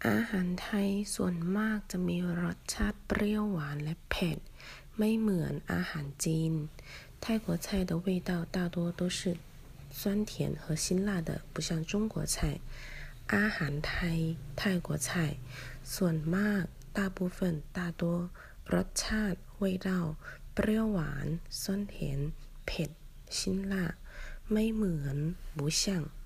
อาหารไทยส่วนมากจะมีรสชาติเปรี้ยวหวานและเผ็ดไม่เหมือนอาหารจีน泰国菜的味道大多都是酸甜和辛辣的不像中国菜อาหารไทย泰国菜ส่วนมาก大部分大多รสชาติ味道เปรี้ยวหวาน酸甜เผ็ด辛辣ไม่เหมือน不像